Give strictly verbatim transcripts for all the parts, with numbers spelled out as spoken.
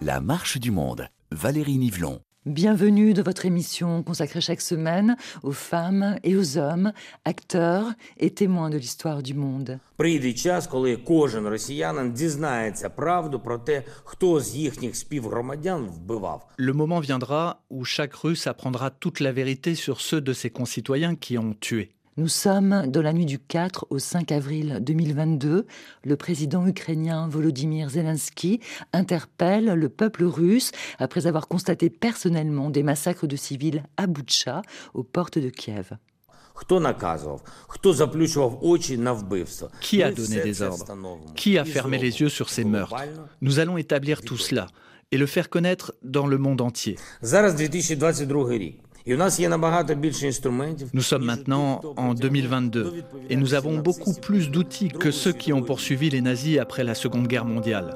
La marche du monde, Valérie Nivelon. Bienvenue dans votre émission consacrée chaque semaine aux femmes et aux hommes, acteurs et témoins de l'histoire du monde. Прийде час, коли кожен росіянин дізнається правду про те, хто з їхніх співгромадян вбивав. Le moment viendra où chaque Russe apprendra toute la vérité sur ceux de ses concitoyens qui ont tué. Nous sommes dans la nuit du quatre au cinq avril deux mille vingt-deux. Le président ukrainien Volodymyr Zelensky interpelle le peuple russe après avoir constaté personnellement des massacres de civils à Boutcha, aux portes de Kiev. Хто наказував? Хто заплющував очі на вбивство? Qui a donné des ordres? Qui a fermé les yeux sur ces meurtres? Nous allons établir tout cela et le faire connaître dans le monde entier. Зараз дві тисячі двадцять другий рік. Nous sommes maintenant en deux mille vingt-deux et nous avons beaucoup plus d'outils que ceux qui ont poursuivi les nazis après la Seconde Guerre mondiale.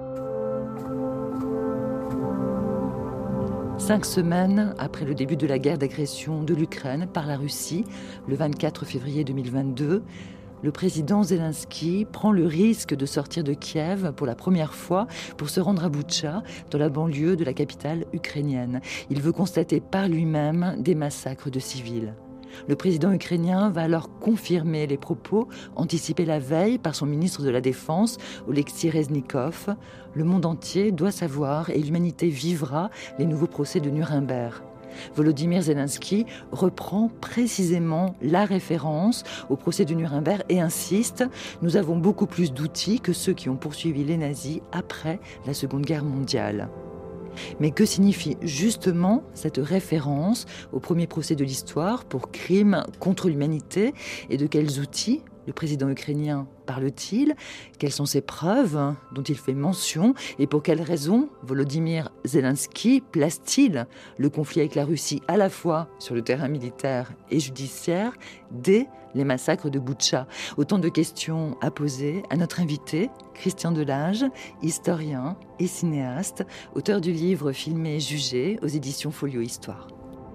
Cinq semaines après le début de la guerre d'agression de l'Ukraine par la Russie, le vingt-quatre février deux mille vingt-deux, le président Zelensky prend le risque de sortir de Kiev pour la première fois pour se rendre à Boutcha, dans la banlieue de la capitale ukrainienne. Il veut constater par lui-même des massacres de civils. Le président ukrainien va alors confirmer les propos anticipés la veille par son ministre de la Défense, Oleksiy Reznikov. Le monde entier doit savoir et l'humanité vivra les nouveaux procès de Nuremberg. Volodymyr Zelensky reprend précisément la référence au procès de Nuremberg et insiste « Nous avons beaucoup plus d'outils que ceux qui ont poursuivi les nazis après la Seconde Guerre mondiale ». Mais que signifie justement cette référence au premier procès de l'histoire pour crimes contre l'humanité et de quels outils le président ukrainien parle-t-il? Quelles sont ces preuves dont il fait mention? Et pour quelles raisons Volodymyr Zelensky place-t-il le conflit avec la Russie à la fois sur le terrain militaire et judiciaire dès les massacres de Boutcha? Autant de questions à poser à notre invité, Christian Delage, historien et cinéaste, auteur du livre Filmé et jugé aux éditions Folio Histoire.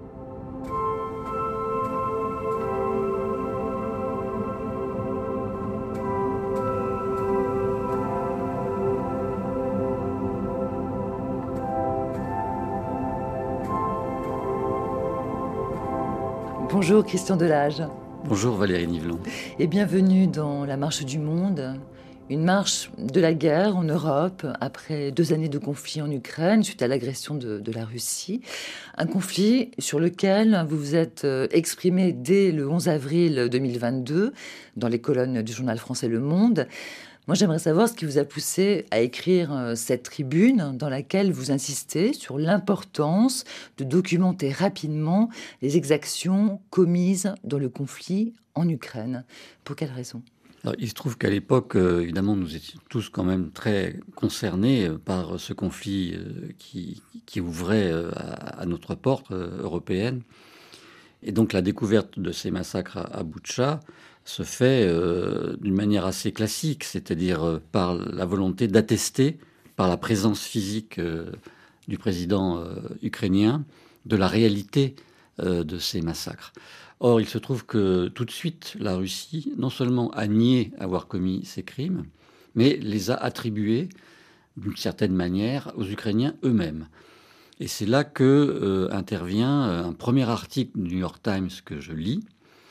Bonjour Christian Delage. Bonjour Valérie Nivelon. Et bienvenue dans La marche du monde, une marche de la guerre en Europe après deux années de conflit en Ukraine suite à l'agression de, de la Russie. Un conflit sur lequel vous vous êtes exprimé dès le onze avril deux mille vingt-deux dans les colonnes du journal français Le Monde. Moi, j'aimerais savoir ce qui vous a poussé à écrire cette tribune dans laquelle vous insistez sur l'importance de documenter rapidement les exactions commises dans le conflit en Ukraine. Pour quelles raisons ? Alors, il se trouve qu'à l'époque, euh, évidemment, nous étions tous quand même très concernés par ce conflit euh, qui, qui ouvrait euh, à, à notre porte euh, européenne. Et donc, la découverte de ces massacres à, à Boutcha se fait euh, d'une manière assez classique, c'est-à-dire euh, par la volonté d'attester, par la présence physique euh, du président euh, ukrainien, de la réalité euh, de ces massacres. Or, il se trouve que tout de suite, la Russie, non seulement a nié avoir commis ces crimes, mais les a attribués, d'une certaine manière, aux Ukrainiens eux-mêmes. Et c'est là que euh, intervient un premier article du New York Times que je lis,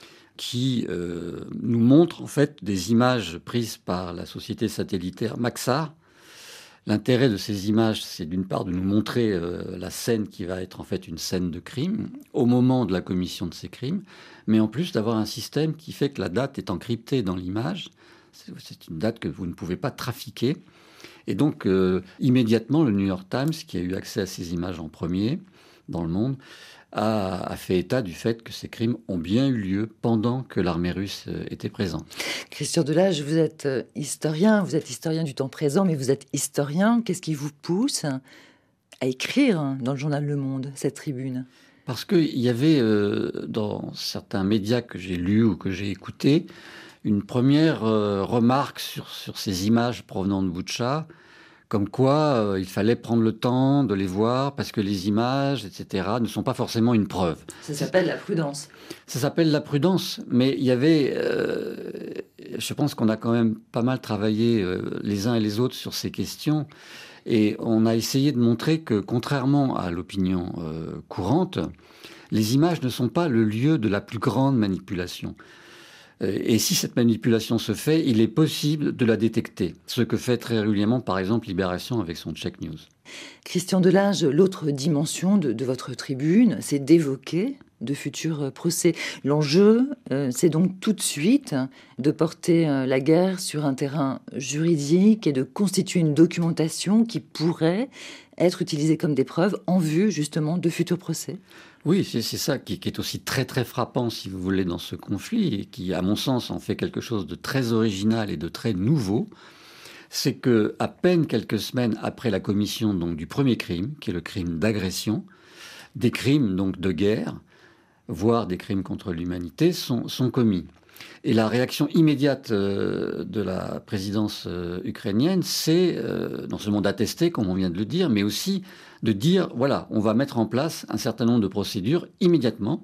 qui euh, nous montre en fait des images prises par la société satellitaire Maxar. L'intérêt de ces images, c'est d'une part de nous montrer euh, la scène qui va être en fait une scène de crime au moment de la commission de ces crimes, mais en plus d'avoir un système qui fait que la date est encryptée dans l'image. C'est, c'est une date que vous ne pouvez pas trafiquer. Et donc, euh, immédiatement, le New York Times, qui a eu accès à ces images en premier dans le monde, a, a fait état du fait que ces crimes ont bien eu lieu pendant que l'armée russe était présente. Christian Delage, vous êtes historien, vous êtes historien du temps présent, mais vous êtes historien. Qu'est-ce qui vous pousse à écrire dans le journal Le Monde cette tribune? Parce qu'il y avait euh, dans certains médias que j'ai lus ou que j'ai écoutés, une première euh, remarque sur, sur ces images provenant de Boutcha, comme quoi euh, il fallait prendre le temps de les voir parce que les images, et cetera, ne sont pas forcément une preuve. Ça s'appelle la prudence. Ça s'appelle la prudence, mais il y avait... Euh, je pense qu'on a quand même pas mal travaillé euh, les uns et les autres sur ces questions. Et on a essayé de montrer que, contrairement à l'opinion euh, courante, les images ne sont pas le lieu de la plus grande manipulation. Et si cette manipulation se fait, il est possible de la détecter. Ce que fait très régulièrement, par exemple, Libération avec son Check News. Christian Delage, l'autre dimension de, de votre tribune, c'est d'évoquer de futurs procès. L'enjeu, euh, c'est donc tout de suite de porter euh, la guerre sur un terrain juridique et de constituer une documentation qui pourrait être utilisée comme des preuves en vue, justement, de futurs procès. Oui, c'est, c'est ça qui, qui est aussi très très frappant, si vous voulez, dans ce conflit, et qui, à mon sens, en fait quelque chose de très original et de très nouveau. C'est que, à peine quelques semaines après la commission donc, du premier crime, qui est le crime d'agression, des crimes donc de guerre, voire des crimes contre l'humanité, sont, sont commis. Et la réaction immédiate euh, de la présidence euh, ukrainienne, c'est euh, non seulement d'attester, comme on vient de le dire, mais aussi de dire, voilà, on va mettre en place un certain nombre de procédures immédiatement.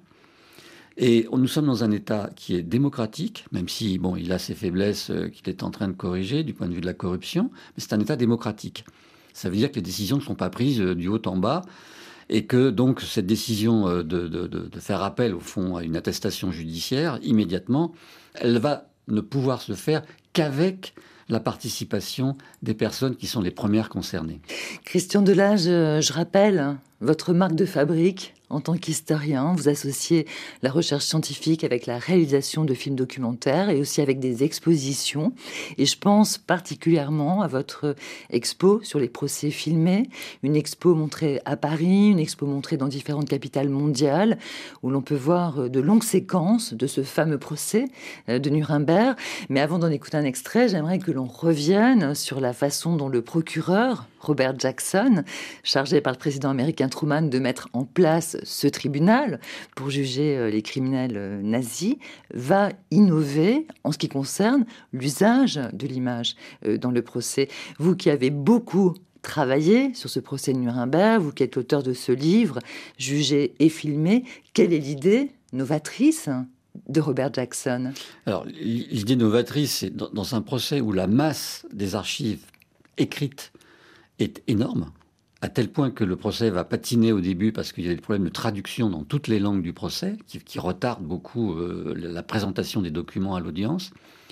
Et nous sommes dans un État qui est démocratique, même si, bon, il a ses faiblesses euh, qu'il est en train de corriger du point de vue de la corruption, mais c'est un État démocratique. Ça veut dire que les décisions ne sont pas prises euh, du haut en bas, et que donc cette décision euh, de, de, de, de faire appel, au fond, à une attestation judiciaire, immédiatement, elle va ne pouvoir se faire qu'avec la participation des personnes qui sont les premières concernées. Christian Delage, je rappelle votre marque de fabrique en tant qu'historien. Vous associez la recherche scientifique avec la réalisation de films documentaires et aussi avec des expositions. Et je pense particulièrement à votre expo sur les procès filmés, une expo montrée à Paris, une expo montrée dans différentes capitales mondiales, où l'on peut voir de longues séquences de ce fameux procès de Nuremberg. Mais avant d'en écouter un extrait, j'aimerais que l'on revienne sur la façon dont le procureur Robert Jackson, chargé par le président américain Truman de mettre en place ce tribunal pour juger les criminels nazis, va innover en ce qui concerne l'usage de l'image dans le procès. Vous qui avez beaucoup travaillé sur ce procès de Nuremberg, vous qui êtes l'auteur de ce livre, Jugé et filmé, quelle est l'idée novatrice de Robert Jackson? Alors, l'idée novatrice, c'est dans un procès où la masse des archives écrites est énorme, à tel point que le procès va patiner au début parce qu'il y a des problèmes de traduction dans toutes les langues du procès qui, qui retardent beaucoup euh, la présentation des documents à l'audience.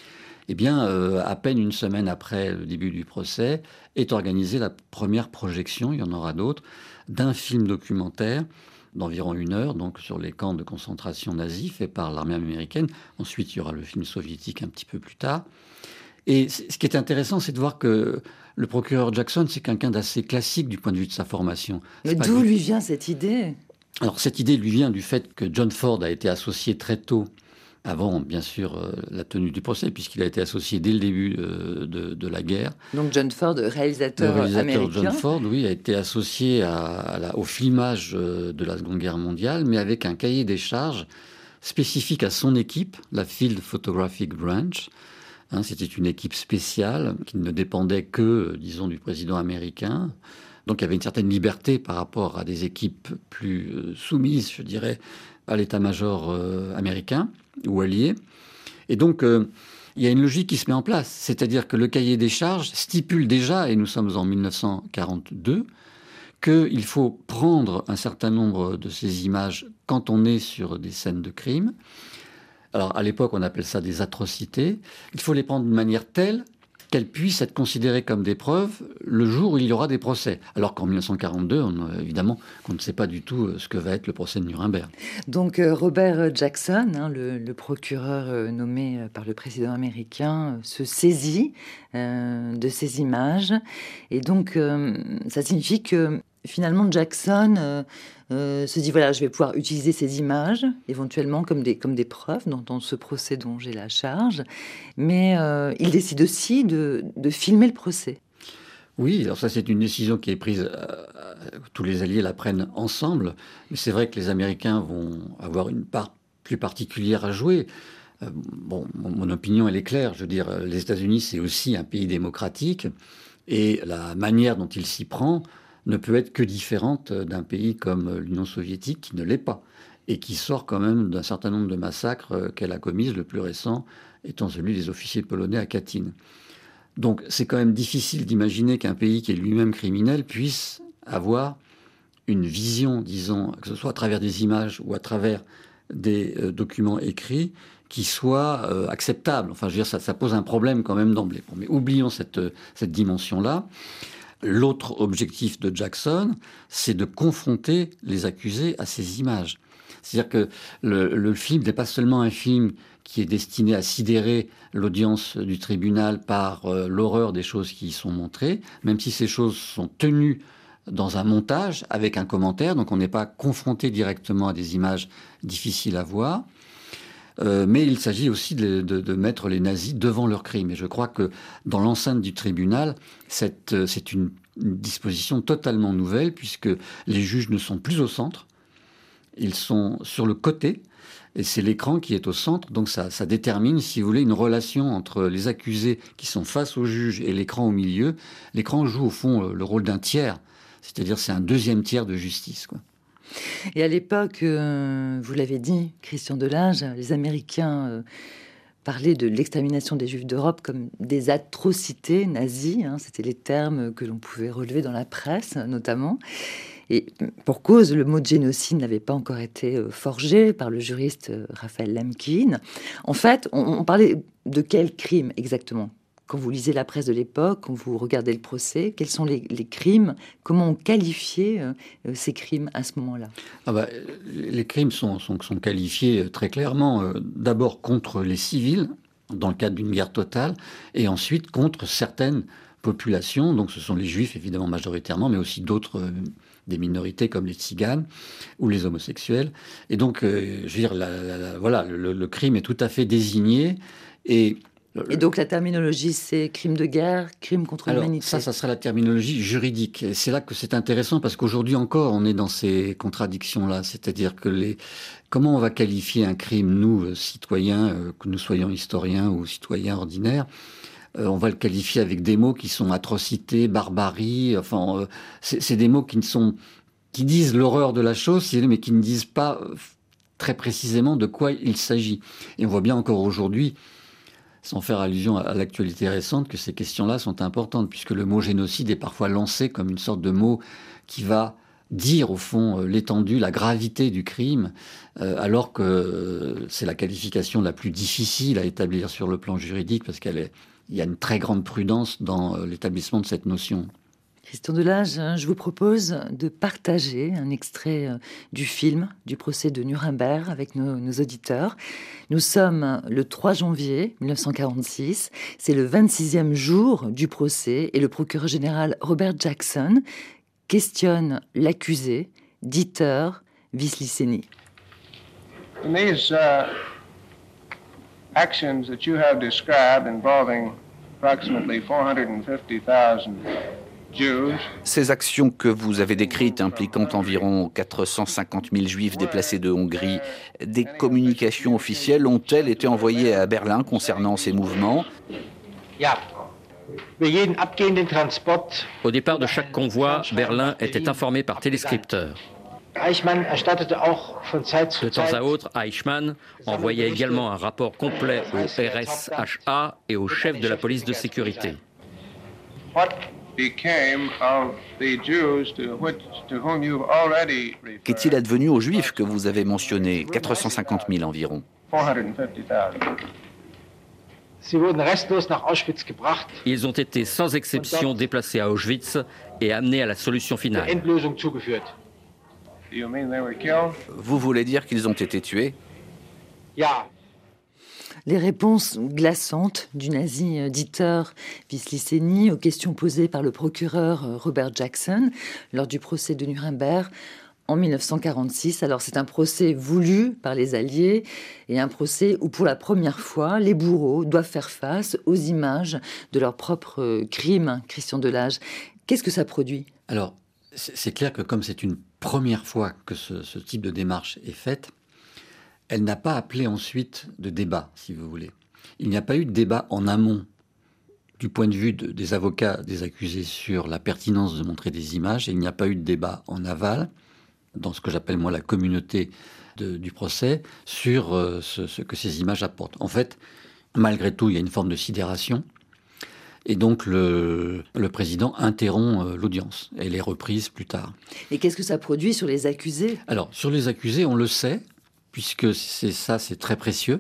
Eh bien, euh, à peine une semaine après le début du procès, est organisée la première projection, il y en aura d'autres, d'un film documentaire d'environ une heure, donc sur les camps de concentration nazis fait par l'armée américaine. Ensuite, il y aura le film soviétique un petit peu plus tard. Et ce qui est intéressant, c'est de voir que le procureur Jackson, c'est quelqu'un d'assez classique du point de vue de sa formation. Mais d'où lui vient cette idée? Alors, cette idée lui vient du fait que John Ford a été associé très tôt, avant, bien sûr, euh, la tenue du procès, puisqu'il a été associé dès le début euh, de, de la guerre. Donc John Ford, réalisateur, le réalisateur américain. John Ford, oui, a été associé à, à la, au filmage euh, de la Seconde Guerre mondiale, mais avec un cahier des charges spécifique à son équipe, la Field Photographic Branch. Hein, c'était une équipe spéciale qui ne dépendait que, disons, du président américain. Donc il y avait une certaine liberté par rapport à des équipes plus euh, soumises, je dirais, à l'état-major euh, américain ou allié. Et donc, euh, il y a une logique qui se met en place. C'est-à-dire que le cahier des charges stipule déjà, et nous sommes en mille neuf cent quarante-deux, qu'il faut prendre un certain nombre de ces images quand on est sur des scènes de crime. Alors, à l'époque, on appelle ça des atrocités. Il faut les prendre de manière telle qu'elles puissent être considérées comme des preuves le jour où il y aura des procès. Alors qu'en mille neuf cent quarante-deux, on, évidemment, on ne sait pas du tout ce que va être le procès de Nuremberg. Donc euh, Robert Jackson, hein, le, le procureur euh, nommé par le président américain, euh, se saisit euh, de ces images. Et donc, euh, ça signifie que finalement, Jackson euh, euh, se dit, voilà, je vais pouvoir utiliser ces images, éventuellement comme des, comme des preuves dans, dans ce procès dont j'ai la charge. Mais euh, il décide aussi de, de filmer le procès. Oui, alors ça, c'est une décision qui est prise, euh, tous les alliés la prennent ensemble. Mais c'est vrai que les Américains vont avoir une part plus particulière à jouer. Euh, bon, mon, mon opinion, elle est claire. Je veux dire, les États-Unis, c'est aussi un pays démocratique. Et la manière dont il s'y prend ne peut être que différente d'un pays comme l'Union soviétique, qui ne l'est pas, et qui sort quand même d'un certain nombre de massacres qu'elle a commises, le plus récent étant celui des officiers polonais à Katyn. Donc c'est quand même difficile d'imaginer qu'un pays qui est lui-même criminel puisse avoir une vision, disons, que ce soit à travers des images ou à travers des euh, documents écrits, qui soit euh, acceptable. Enfin, je veux dire, ça, ça pose un problème quand même d'emblée. Bon, mais oublions cette, cette dimension-là. L'autre objectif de Jackson, c'est de confronter les accusés à ces images. C'est-à-dire que le, le film n'est pas seulement un film qui est destiné à sidérer l'audience du tribunal par euh, l'horreur des choses qui y sont montrées, même si ces choses sont tenues dans un montage avec un commentaire, donc on n'est pas confronté directement à des images difficiles à voir. Euh, mais il s'agit aussi de, de, de mettre les nazis devant leurs crimes. Et je crois que dans l'enceinte du tribunal, cette, c'est une, une disposition totalement nouvelle, puisque les juges ne sont plus au centre, ils sont sur le côté, et c'est l'écran qui est au centre. Donc ça, ça détermine, si vous voulez, une relation entre les accusés qui sont face au juge et l'écran au milieu. L'écran joue au fond le rôle d'un tiers, c'est-à-dire c'est un deuxième tiers de justice, quoi. Et à l'époque, euh, vous l'avez dit, Christian Delage, les Américains euh, parlaient de l'extermination des Juifs d'Europe comme des atrocités nazies. Hein, c'était les termes que l'on pouvait relever dans la presse, notamment. Et pour cause, le mot de génocide n'avait pas encore été euh, forgé par le juriste euh, Raphaël Lemkin. En fait, on, on parlait de quel crime exactement ? Quand vous lisez la presse de l'époque, quand vous regardez le procès, quels sont les, les crimes ? Comment on qualifiait euh, ces crimes à ce moment-là ? ah bah, Les crimes sont, sont, sont qualifiés très clairement, euh, d'abord contre les civils, dans le cadre d'une guerre totale, et ensuite contre certaines populations. Donc ce sont les juifs, évidemment, majoritairement, mais aussi d'autres, euh, des minorités comme les tziganes ou les homosexuels. Et donc, euh, je veux dire, la, la, la, voilà, le, le crime est tout à fait désigné, et Et donc la terminologie, c'est crime de guerre, crime contre Alors, l'humanité. ça, ça serait la terminologie juridique. Et c'est là que c'est intéressant, parce qu'aujourd'hui encore, on est dans ces contradictions-là. C'est-à-dire que les... comment on va qualifier un crime, nous, citoyens, euh, que nous soyons historiens ou citoyens ordinaires, euh, on va le qualifier avec des mots qui sont atrocité, barbarie. Enfin, euh, c'est, c'est des mots qui ne sont... qui disent l'horreur de la chose, mais qui ne disent pas euh, très précisément de quoi il s'agit. Et on voit bien encore aujourd'hui, sans faire allusion à l'actualité récente, que ces questions-là sont importantes, puisque le mot génocide est parfois lancé comme une sorte de mot qui va dire, au fond, l'étendue, la gravité du crime, euh, alors que euh, c'est la qualification la plus difficile à établir sur le plan juridique, parce qu'il y a une très grande prudence dans euh, l'établissement de cette notion. Christian Delage, je vous propose de partager un extrait du film du procès de Nuremberg avec nos, nos auditeurs. Nous sommes le trois janvier mille neuf cent quarante-six, c'est le vingt-sixième jour du procès et le procureur général Robert Jackson questionne l'accusé, Dieter Wisliceny. In these uh, actions that you have described involving approximately four hundred fifty thousand Ces actions que vous avez décrites impliquant environ quatre cent cinquante mille juifs déplacés de Hongrie, des communications officielles ont-elles été envoyées à Berlin concernant ces mouvements ? Au départ de chaque convoi, Berlin était informé par téléscripteur. De temps à autre, Eichmann envoyait également un rapport complet au R S H A et au chef de la police de sécurité. Qu'est-il advenu aux Juifs que vous avez mentionnés, quatre cent cinquante mille environ ? Ils ont été sans exception déplacés à Auschwitz et amenés à la solution finale. Vous voulez dire qu'ils ont été tués ? Les réponses glaçantes du nazi Dieter Wisliceny aux questions posées par le procureur Robert Jackson lors du procès de Nuremberg en mille neuf cent quarante-six. Alors c'est un procès voulu par les Alliés et un procès où pour la première fois les bourreaux doivent faire face aux images de leurs propres crimes. Christian Delage, qu'est-ce que ça produit ? Alors c'est clair que comme c'est une première fois que ce, ce type de démarche est faite, elle n'a pas appelé ensuite de débat, si vous voulez. Il n'y a pas eu de débat en amont du point de vue de, des avocats des accusés sur la pertinence de montrer des images, et il n'y a pas eu de débat en aval, dans ce que j'appelle moi la communauté de, du procès, sur euh, ce, ce que ces images apportent. En fait, malgré tout, il y a une forme de sidération, et donc le, le président interrompt euh, l'audience. Elle est reprise plus tard. Et qu'est-ce que ça produit sur les accusés ? Alors, sur les accusés, on le sait, puisque c'est ça, c'est très précieux.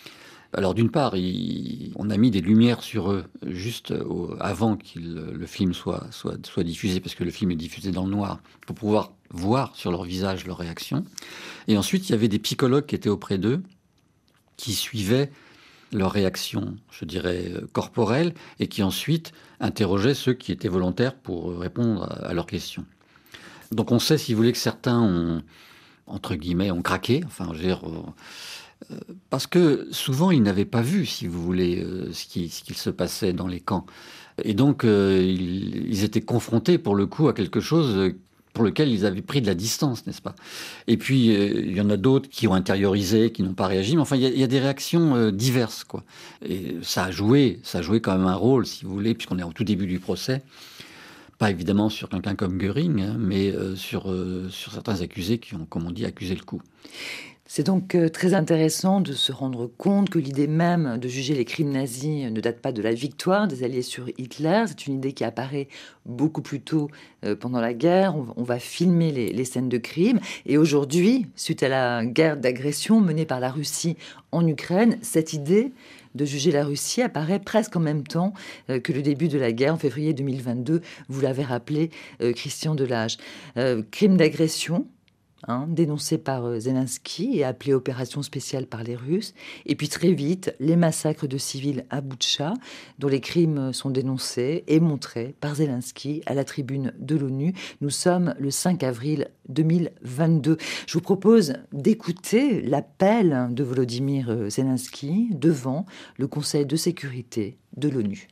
Alors d'une part, il, on a mis des lumières sur eux juste au, avant que le film soit, soit, soit diffusé, parce que le film est diffusé dans le noir, pour pouvoir voir sur leur visage leur réaction. Et ensuite, il y avait des psychologues qui étaient auprès d'eux, qui suivaient leur réaction, je dirais, corporelle, et qui ensuite interrogeaient ceux qui étaient volontaires pour répondre à, à leurs questions. Donc on sait, si vous voulez, que certains ont, entre guillemets, ont craqué, enfin, je veux dire... Euh, parce que souvent, ils n'avaient pas vu, si vous voulez, euh, ce, qui, ce qu'il se passait dans les camps. Et donc, euh, ils, ils étaient confrontés, pour le coup, à quelque chose pour lequel ils avaient pris de la distance, n'est-ce pas ? Et puis, euh, il y en a d'autres qui ont intériorisé, qui n'ont pas réagi. Mais enfin, il y a, il y a des réactions euh, diverses, quoi. Et ça a joué, ça a joué quand même un rôle, si vous voulez, puisqu'on est au tout début du procès. Pas évidemment sur quelqu'un comme Göring, hein, mais euh, sur, euh, sur certains accusés qui ont, comme on dit, accusé le coup. C'est donc très intéressant de se rendre compte que l'idée même de juger les crimes nazis ne date pas de la victoire des Alliés sur Hitler. C'est une idée qui apparaît beaucoup plus tôt pendant la guerre. On va filmer les, les scènes de crimes. Et aujourd'hui, suite à la guerre d'agression menée par la Russie en Ukraine, cette idée de juger la Russie apparaît presque en même temps que le début de la guerre, en février deux mille vingt-deux. Vous l'avez rappelé, Christian Delage. Euh, crime d'agression, Hein, dénoncé par Zelensky et appelé opération spéciale par les Russes. Et puis très vite, les massacres de civils à Boutcha, dont les crimes sont dénoncés et montrés par Zelensky à la tribune de l'ONU. Nous sommes le cinq avril deux mille vingt-deux. Je vous propose d'écouter l'appel de Volodymyr Zelensky devant le Conseil de sécurité de l'ONU.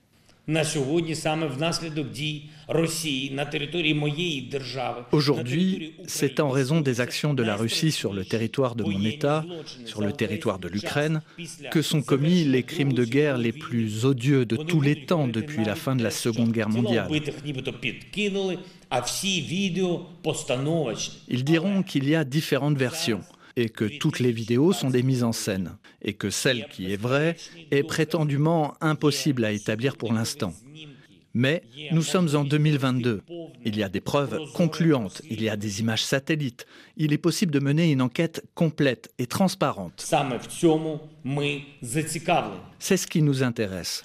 Aujourd'hui, c'est en raison des actions de la Russie sur le territoire de mon État, sur le territoire de l'Ukraine, que sont commis les crimes de guerre les plus odieux de tous les temps depuis la fin de la Seconde Guerre mondiale. Ils diront qu'il y a différentes versions, et que toutes les vidéos sont des mises en scène, et que celle qui est vraie est prétendument impossible à établir pour l'instant. Mais nous sommes en deux mille vingt-deux. Il y a des preuves concluantes, il y a des images satellites. Il est possible de mener une enquête complète et transparente. C'est ce qui nous intéresse.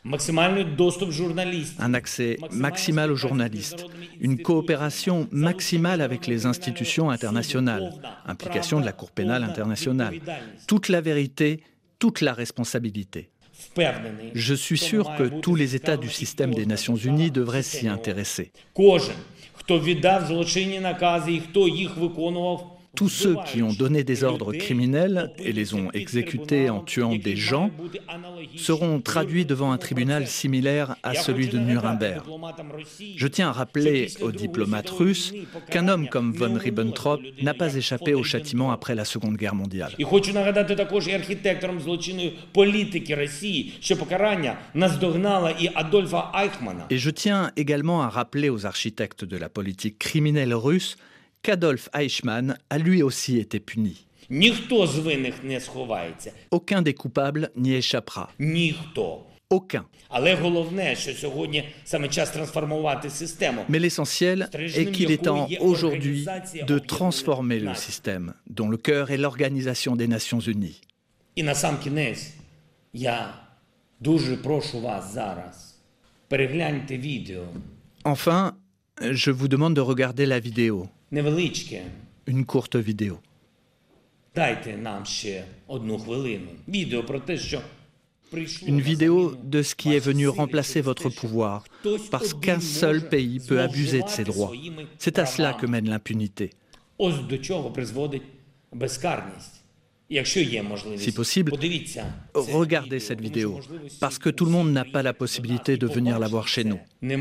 Un accès maximal aux journalistes, une coopération maximale avec les institutions internationales, implication de la Cour pénale internationale, toute la vérité, toute la responsabilité. Je suis sûr que tous les États du système des Nations Unies devraient s'y intéresser. Tous ceux qui ont donné des ordres criminels et les ont exécutés en tuant des gens seront traduits devant un tribunal similaire à celui de Nuremberg. Je tiens à rappeler aux diplomates russes qu'un homme comme von Ribbentrop n'a pas échappé au châtiment après la Seconde Guerre mondiale. Et je tiens également à rappeler aux architectes de la politique criminelle russe qu'Adolf Eichmann a lui aussi été puni. Aucun des coupables n'y échappera. Aucun. Mais l'essentiel est qu'il est temps aujourd'hui de transformer le système, dont le cœur est l'Organisation des Nations Unies. Enfin, je vous demande de regarder la vidéo. Une courte vidéo. Une vidéo de ce qui est venu remplacer votre pouvoir, parce qu'un seul pays peut abuser de ses droits. C'est à cela que mène l'impunité. Si possible, regardez cette vidéo, parce que tout le monde n'a pas la possibilité de venir la voir chez nous.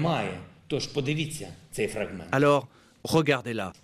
Alors, regardez-la.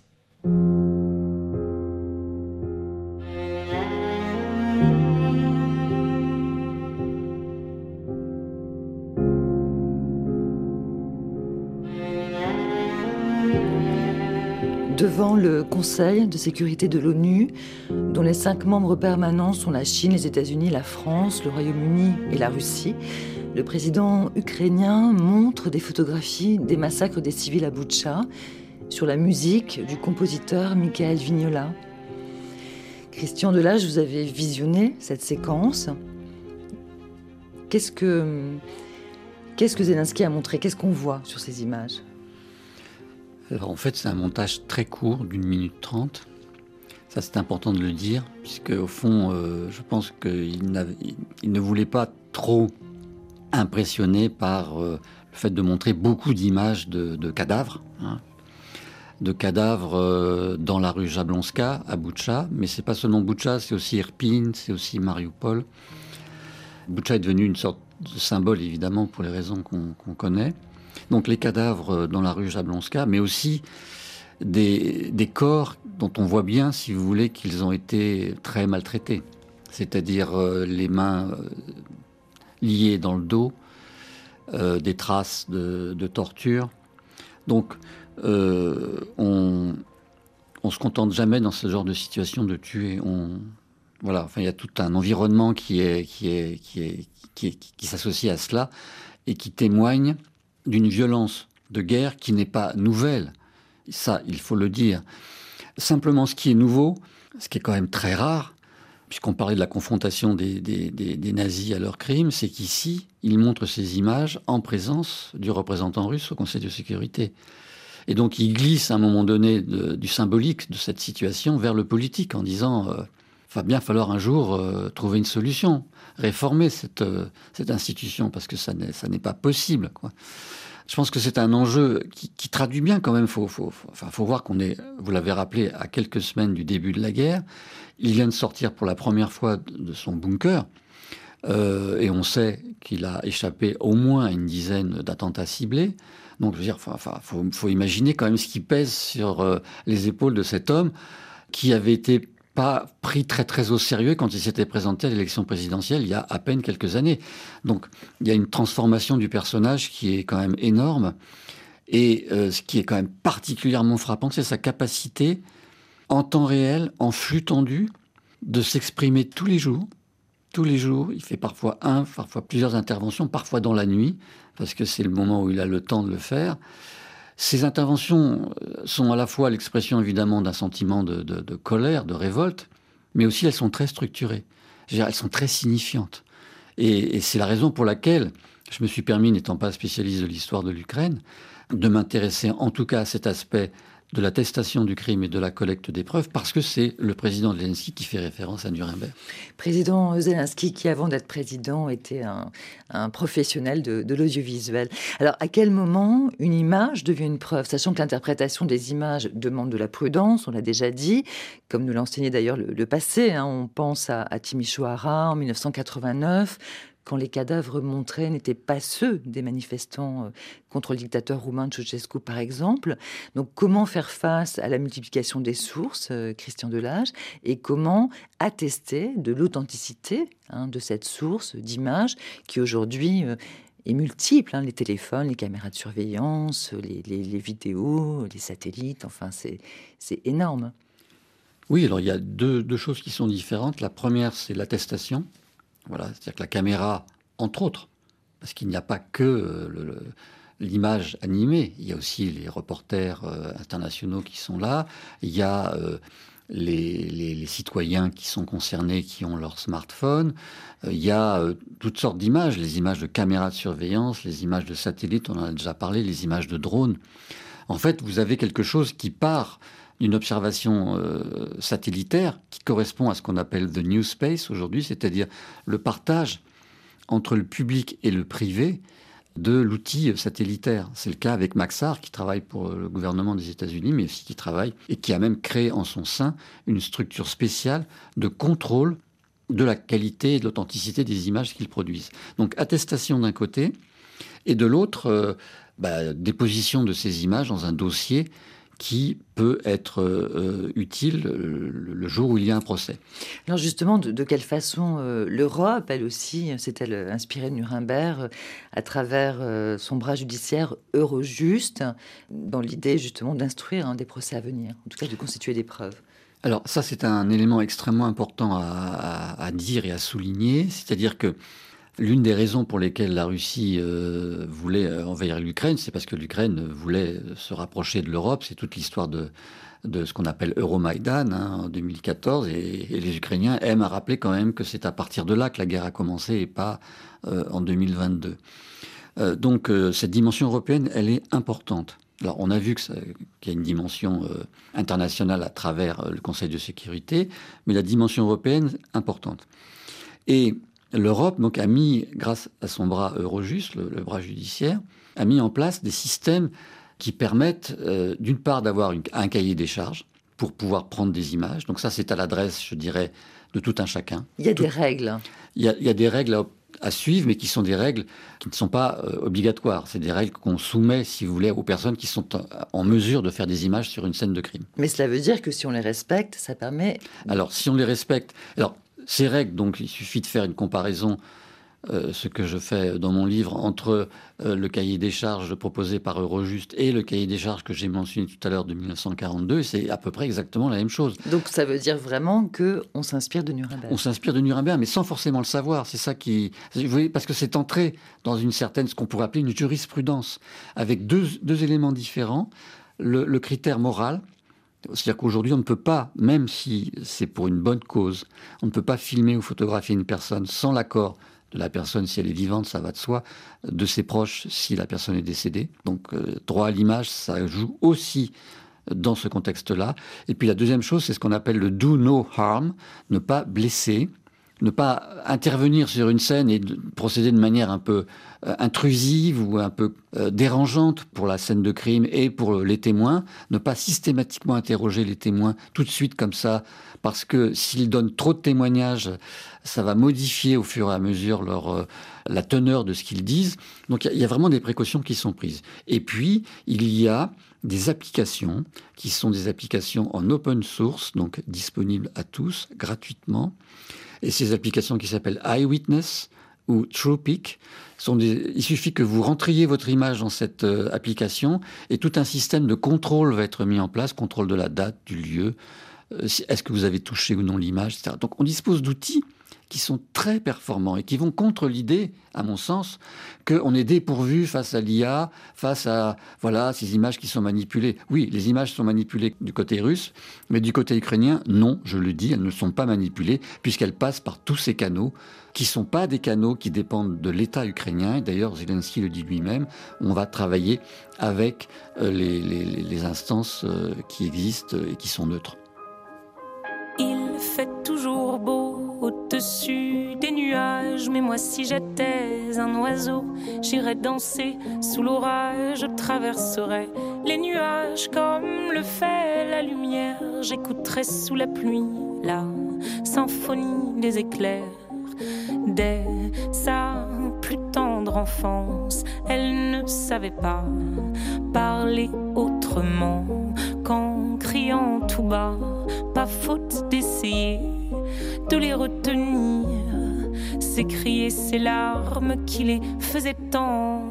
devant le Conseil de sécurité de l'ONU, dont les cinq membres permanents sont la Chine, les États-Unis, la France, le Royaume-Uni et la Russie, le président ukrainien montre des photographies des massacres des civils à Boutcha sur la musique du compositeur Mikhail Vignola. Christian Delage, vous avez visionné cette séquence. Qu'est-ce que, qu'est-ce que Zelensky a montré ? Qu'est-ce qu'on voit sur ces images ? Alors en fait, c'est un montage très court, d'une minute trente. Ça, c'est important de le dire, puisque au fond, euh, je pense qu'il n'avait, il ne voulait pas trop impressionner par euh, le fait de montrer beaucoup d'images de, de cadavres, hein, de cadavres euh, dans la rue Jablonska, à Boutcha. Mais c'est pas seulement Boutcha, c'est aussi Irpin, c'est aussi Mariupol. Boutcha est devenu une sorte de symbole, évidemment, pour les raisons qu'on, qu'on connaît. Donc les cadavres dans la rue Jablonska, mais aussi des, des corps dont on voit bien, si vous voulez, qu'ils ont été très maltraités. C'est-à-dire euh, les mains euh, liées dans le dos, euh, des traces de, de torture. Donc euh, on on se contente jamais dans ce genre de situation de tuer. On, voilà, enfin il y a tout un environnement qui est qui est qui est qui, est, qui, qui s'associe à cela et qui témoigne d'une violence de guerre qui n'est pas nouvelle. Ça, il faut le dire. Simplement, ce qui est nouveau, ce qui est quand même très rare, puisqu'on parlait de la confrontation des, des, des, des nazis à leurs crimes, c'est qu'ici, ils montrent ces images en présence du représentant russe au Conseil de sécurité. Et donc, ils glissent à un moment donné de, du symbolique de cette situation vers le politique, en disant euh, « va bien falloir un jour euh, trouver une solution, réformer cette, euh, cette institution, parce que ça n'est, ça n'est pas possible, quoi. » Je pense que c'est un enjeu qui, qui traduit bien quand même. Faut, faut, faut, enfin, faut voir qu'on est, vous l'avez rappelé, à quelques semaines du début de la guerre. Il vient de sortir pour la première fois de son bunker. Euh, et on sait qu'il a échappé au moins à une dizaine d'attentats ciblés. Donc, je veux dire, enfin, faut, faut imaginer quand même ce qui pèse sur euh, les épaules de cet homme qui avait été pas pris très très au sérieux quand il s'était présenté à l'élection présidentielle il y a à peine quelques années. Donc il y a une transformation du personnage qui est quand même énorme. Et euh, ce qui est quand même particulièrement frappant, c'est sa capacité en temps réel, en flux tendu, de s'exprimer tous les jours. Tous les jours, il fait parfois un, parfois plusieurs interventions, parfois dans la nuit, parce que c'est le moment où il a le temps de le faire. Ces interventions sont à la fois l'expression évidemment d'un sentiment de, de, de colère, de révolte, mais aussi elles sont très structurées. Je veux dire, elles sont très signifiantes. Et, et c'est la raison pour laquelle je me suis permis, n'étant pas spécialiste de l'histoire de l'Ukraine, de m'intéresser en tout cas à cet aspect de l'attestation du crime et de la collecte des preuves, parce que c'est le président Zelensky qui fait référence à Nuremberg. Président Zelensky qui, avant d'être président, était un, un professionnel de, de l'audiovisuel. Alors, à quel moment une image devient une preuve, sachant que l'interprétation des images demande de la prudence, on l'a déjà dit, comme nous l'a enseigné d'ailleurs le, le passé, hein, on pense à, à Timișoara en mille neuf cent quatre-vingt-neuf, quand les cadavres montrés n'étaient pas ceux des manifestants contre le dictateur roumain Ceausescu, par exemple. Donc, comment faire face à la multiplication des sources, Christian Delage, et comment attester de l'authenticité hein, de cette source d'image qui, aujourd'hui, euh, est multiple. Hein, les téléphones, les caméras de surveillance, les, les, les vidéos, les satellites, enfin, c'est, c'est énorme. Oui, alors il y a deux, deux choses qui sont différentes. La première, c'est l'attestation. Voilà, c'est-à-dire que la caméra, entre autres, parce qu'il n'y a pas que le, le, l'image animée, il y a aussi les reporters euh, internationaux qui sont là, il y a euh, les, les, les citoyens qui sont concernés, qui ont leur smartphone, euh, il y a euh, toutes sortes d'images, les images de caméras de surveillance, les images de satellites, on en a déjà parlé, les images de drones. En fait, vous avez quelque chose qui part d'une observation euh, satellitaire qui correspond à ce qu'on appelle the new space aujourd'hui, c'est-à-dire le partage entre le public et le privé de l'outil satellitaire. C'est le cas avec Maxar, qui travaille pour le gouvernement des États-Unis, mais aussi qui travaille et qui a même créé en son sein une structure spéciale de contrôle de la qualité et de l'authenticité des images qu'ils produisent. Donc attestation d'un côté, et de l'autre, euh, bah, déposition de ces images dans un dossier qui peut être euh, utile le, le jour où il y a un procès. Alors justement, de, de quelle façon euh, l'Europe, elle aussi, s'est-elle inspirée de Nuremberg euh, à travers euh, son bras judiciaire Eurojust, dans l'idée justement d'instruire hein, des procès à venir, en tout cas de constituer des preuves? Alors ça, c'est un élément extrêmement important à, à, à dire et à souligner, c'est-à-dire que l'une des raisons pour lesquelles la Russie euh, voulait envahir l'Ukraine, c'est parce que l'Ukraine voulait se rapprocher de l'Europe. C'est toute l'histoire de, de ce qu'on appelle Euromaïdan hein, en deux mille quatorze. Et, et les Ukrainiens aiment à rappeler quand même que c'est à partir de là que la guerre a commencé et pas euh, en deux mille vingt-deux. Euh, donc euh, cette dimension européenne, elle est importante. Alors on a vu que ça, qu'il y a une dimension euh, internationale à travers euh, le Conseil de sécurité, mais la dimension européenne, importante. Et l'Europe donc, a mis, grâce à son bras Eurojust, le, le bras judiciaire, a mis en place des systèmes qui permettent, euh, d'une part, d'avoir une, un cahier des charges pour pouvoir prendre des images. Donc ça, c'est à l'adresse, je dirais, de tout un chacun. Il y a tout, des règles. Il y a, il y a des règles à, à suivre, mais qui sont des règles qui ne sont pas euh, obligatoires. C'est des règles qu'on soumet, si vous voulez, aux personnes qui sont en, en mesure de faire des images sur une scène de crime. Mais cela veut dire que si on les respecte, ça permet... Alors, si on les respecte... Alors, ces règles, donc, il suffit de faire une comparaison, euh, ce que je fais dans mon livre, entre euh, le cahier des charges proposé par Eurojust et le cahier des charges que j'ai mentionné tout à l'heure de mille neuf cent quarante-deux. C'est à peu près exactement la même chose. Donc ça veut dire vraiment qu'on s'inspire de Nuremberg. On s'inspire de Nuremberg, mais sans forcément le savoir. C'est ça qui... Vous voyez, parce que c'est entré dans une certaine, ce qu'on pourrait appeler une jurisprudence, avec deux, deux éléments différents. Le, le critère moral... C'est-à-dire qu'aujourd'hui, on ne peut pas, même si c'est pour une bonne cause, on ne peut pas filmer ou photographier une personne sans l'accord de la personne si elle est vivante, ça va de soi, de ses proches si la personne est décédée. Donc, euh, droit à l'image, ça joue aussi dans ce contexte-là. Et puis la deuxième chose, c'est ce qu'on appelle le do no harm, ne pas blesser, ne pas intervenir sur une scène et de procéder de manière un peu euh, intrusive ou un peu euh, dérangeante pour la scène de crime et pour les témoins, ne pas systématiquement interroger les témoins tout de suite comme ça, parce que s'ils donnent trop de témoignages, ça va modifier au fur et à mesure leur, euh, la teneur de ce qu'ils disent. Donc il y, y a vraiment des précautions qui sont prises. Et puis, il y a des applications qui sont des applications en open source, donc disponibles à tous, gratuitement. Et ces applications qui s'appellent Eyewitness ou TruePic, sont des... il suffit que vous rentriez votre image dans cette euh, application et tout un système de contrôle va être mis en place, contrôle de la date, du lieu, euh, est-ce que vous avez touché ou non l'image, et cetera. Donc on dispose d'outils qui sont très performants et qui vont contre l'idée, à mon sens, qu'on est dépourvu face à l'I A, face à voilà ces images qui sont manipulées. Oui, les images sont manipulées du côté russe, mais du côté ukrainien, non, je le dis, elles ne sont pas manipulées, puisqu'elles passent par tous ces canaux, qui ne sont pas des canaux qui dépendent de l'État ukrainien. Et d'ailleurs, Zelensky le dit lui-même, on va travailler avec euh, les, les, les instances euh, qui existent et qui sont neutres. Il fait toujours beau au-dessus des nuages, mais moi si j'étais un oiseau, j'irais danser sous l'orage, je traverserais les nuages comme le fait la lumière, j'écouterais sous la pluie la symphonie des éclairs. Dès sa plus tendre enfance, elle ne savait pas parler autrement qu'en criant tout bas, pas faute d'essayer de les retenir, s'écrier ces larmes qui les faisaient tant.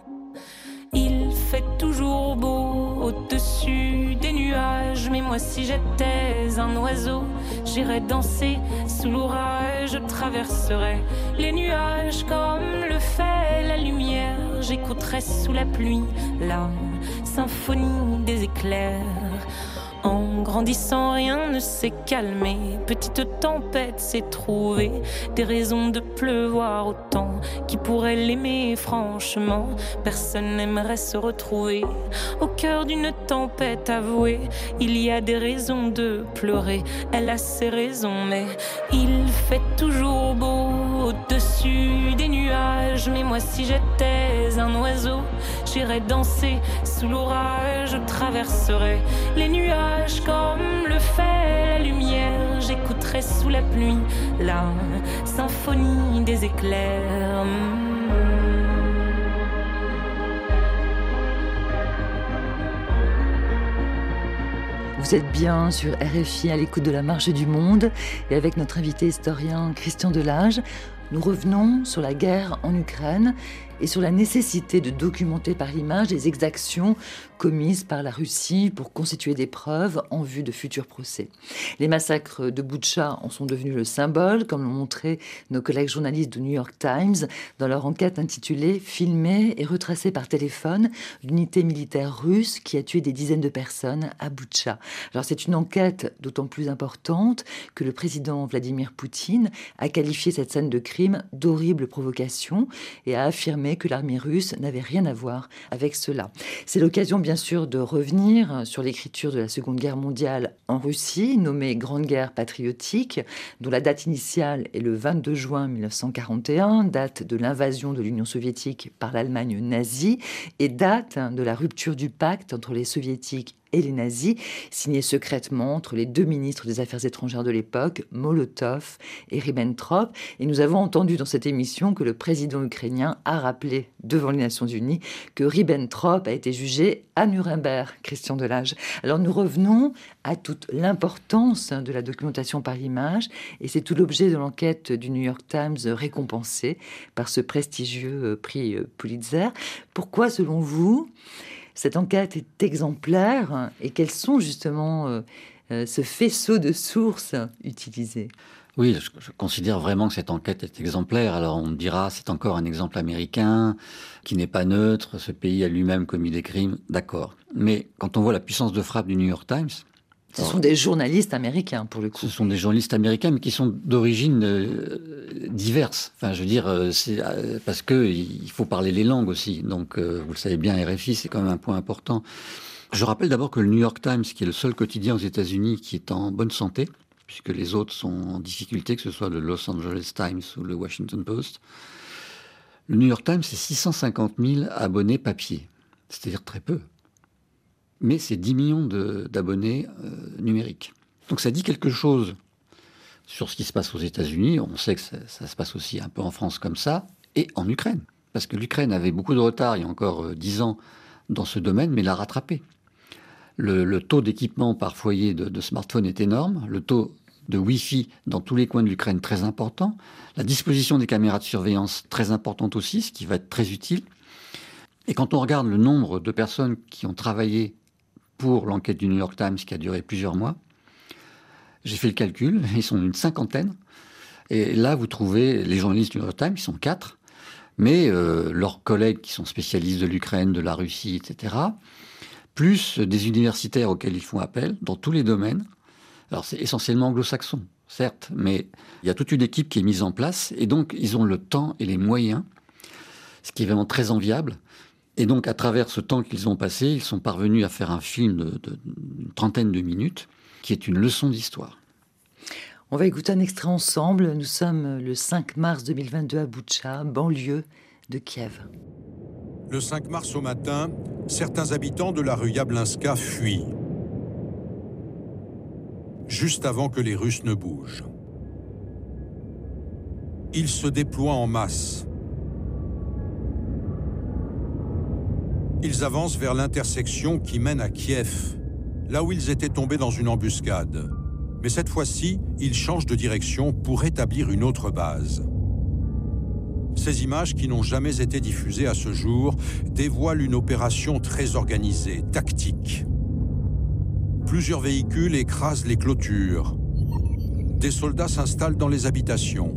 Il fait toujours beau au-dessus des nuages, mais moi si j'étais un oiseau, j'irais danser sous l'orage, je traverserais les nuages comme le fait la lumière, j'écouterais sous la pluie la symphonie des éclairs. En grandissant, rien ne s'est calmé. Petite tempête s'est trouvée des raisons de pleuvoir autant. Qui pourrait l'aimer franchement? Personne n'aimerait se retrouver au cœur d'une tempête avouée. Il y a des raisons de pleurer, elle a ses raisons, mais il fait toujours beau au-dessus des nuages. Mais moi si j'étais un oiseau, j'irais danser sous l'orage, je traverserais les nuages comme le fait la lumière, j'écouterai sous la pluie la symphonie des éclairs. Vous êtes bien sur R F I à l'écoute de la Marche du Monde et avec notre invité historien Christian Delage, nous revenons sur la guerre en Ukraine et sur la nécessité de documenter par l'image les exactions commises par la Russie pour constituer des preuves en vue de futurs procès. Les massacres de Boutcha en sont devenus le symbole, comme l'ont montré nos collègues journalistes du New York Times dans leur enquête intitulée « Filmée et retracée par téléphone, l'unité militaire russe qui a tué des dizaines de personnes à Boutcha ». Alors c'est une enquête d'autant plus importante que le président Vladimir Poutine a qualifié cette scène de crime d'horrible provocation et a affirmé que l'armée russe n'avait rien à voir avec cela. C'est l'occasion bien sûr de revenir sur l'écriture de la Seconde Guerre mondiale en Russie, nommée Grande Guerre patriotique, dont la date initiale est le vingt-deux juin mille neuf cent quarante et un, date de l'invasion de l'Union soviétique par l'Allemagne nazie et date de la rupture du pacte entre les soviétiques et les nazis, signé secrètement entre les deux ministres des Affaires étrangères de l'époque, Molotov et Ribbentrop. Et nous avons entendu dans cette émission que le président ukrainien a rappelé devant les Nations Unies que Ribbentrop a été jugé à Nuremberg, Christian Delage. Alors nous revenons à toute l'importance de la documentation par l'image, et c'est tout l'objet de l'enquête du New York Times récompensée par ce prestigieux prix Pulitzer. Pourquoi, selon vous, cette enquête est exemplaire et quels sont justement euh, euh, ce faisceau de sources utilisées? Oui, je, je considère vraiment que cette enquête est exemplaire. Alors on me dira, c'est encore un exemple américain qui n'est pas neutre, ce pays a lui-même commis des crimes, d'accord. Mais quand on voit la puissance de frappe du New York Times... Ce sont des journalistes américains, pour le coup. Ce sont des journalistes américains, mais qui sont d'origine euh, diverse. Enfin, je veux dire, euh, c'est euh, parce que il faut parler les langues aussi. Donc, euh, vous le savez bien, R F I, c'est quand même un point important. Je rappelle d'abord que le New York Times, qui est le seul quotidien aux États-Unis qui est en bonne santé, puisque les autres sont en difficulté, que ce soit le Los Angeles Times ou le Washington Post, le New York Times, c'est six cent cinquante mille abonnés papier, c'est-à-dire très peu. Mais c'est dix millions de, d'abonnés euh, numériques. Donc ça dit quelque chose sur ce qui se passe aux États-Unis. On sait que ça, ça se passe aussi un peu en France comme ça, et en Ukraine. Parce que l'Ukraine avait beaucoup de retard il y a encore euh, dix ans dans ce domaine, mais l'a rattrapé. Le, le taux d'équipement par foyer de, de smartphone est énorme. Le taux de Wi-Fi dans tous les coins de l'Ukraine très important. La disposition des caméras de surveillance très importante aussi, ce qui va être très utile. Et quand on regarde le nombre de personnes qui ont travaillé pour l'enquête du New York Times qui a duré plusieurs mois, j'ai fait le calcul, ils sont une cinquantaine. Et là, vous trouvez les journalistes du New York Times, ils sont quatre, mais euh, leurs collègues qui sont spécialistes de l'Ukraine, de la Russie, et cetera, plus des universitaires auxquels ils font appel dans tous les domaines. Alors, c'est essentiellement anglo-saxon, certes, mais il y a toute une équipe qui est mise en place, et donc ils ont le temps et les moyens, ce qui est vraiment très enviable. Et donc, à travers ce temps qu'ils ont passé, ils sont parvenus à faire un film de, de, d'une trentaine de minutes, qui est une leçon d'histoire. On va écouter un extrait ensemble. Nous sommes le cinq mars deux mille vingt-deux à Boutcha, banlieue de Kiev. Le cinq mars au matin, certains habitants de la rue Yablinska fuient. Juste avant que les Russes ne bougent. Ils se déploient en masse. Ils avancent vers l'intersection qui mène à Kiev, là où ils étaient tombés dans une embuscade. Mais cette fois-ci, ils changent de direction pour établir une autre base. Ces images, qui n'ont jamais été diffusées à ce jour, dévoilent une opération très organisée, tactique. Plusieurs véhicules écrasent les clôtures. Des soldats s'installent dans les habitations.